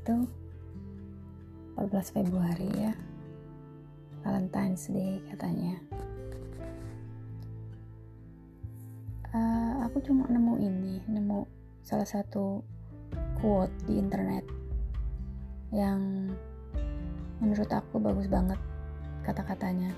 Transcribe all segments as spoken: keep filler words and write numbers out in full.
itu empat belas Februari ya, Valentine's Day katanya. Uh, aku cuma nemu ini, nemu salah satu quote di internet yang menurut aku bagus banget kata-katanya.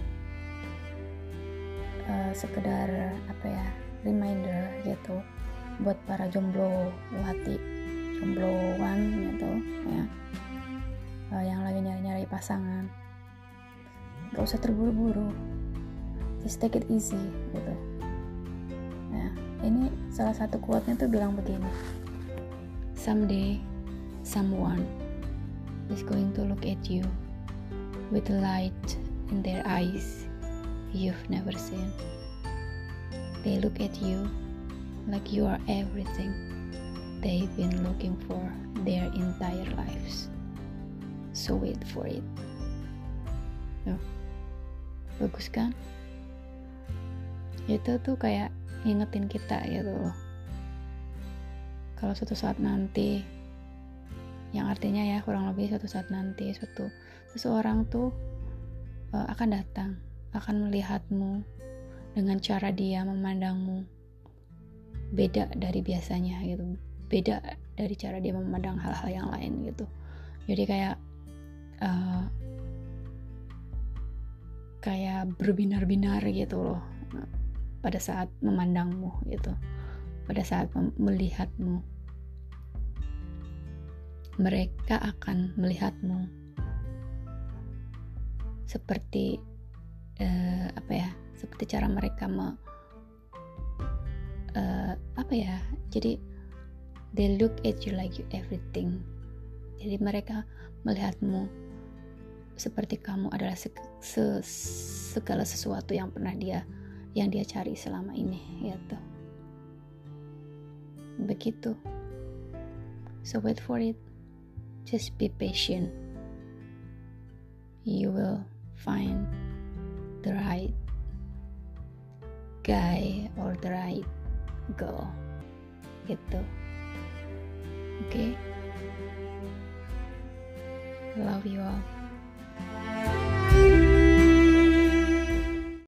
Uh, sekedar apa ya, reminder gitu buat para jomblo hati, jombloan gitu ya, uh, yang lagi nyari-nyari pasangan. Gak usah terburu-buru, just take it easy gitu. Nah, ini salah satu quote-nya tuh bilang begini: someday someone is going to look at you with the light in their eyes you've never seen. They look at you like you are everything they've been looking for their entire lives. So wait for it. Tuh, bagus kan? Itu tuh kayak ngingetin kita gitu loh, kalau suatu saat nanti, yang artinya ya kurang lebih suatu saat nanti suatu seseorang tuh uh, akan datang, akan melihatmu dengan cara dia memandangmu beda dari biasanya gitu, beda dari cara dia memandang hal-hal yang lain gitu. Jadi kayak uh, kayak berbinar-binar gitu loh pada saat memandangmu gitu, pada saat mem- melihatmu. Mereka akan melihatmu seperti uh, apa ya, seperti cara mereka me, uh, apa ya, jadi they look at you like you everything. Jadi mereka melihatmu seperti kamu adalah se- se- segala sesuatu yang pernah dia yang dia cari selama ini gitu. Begitu. So wait for it. Just be patient. You will find the right guy or the right girl gitu. Oke, okay? Love you all.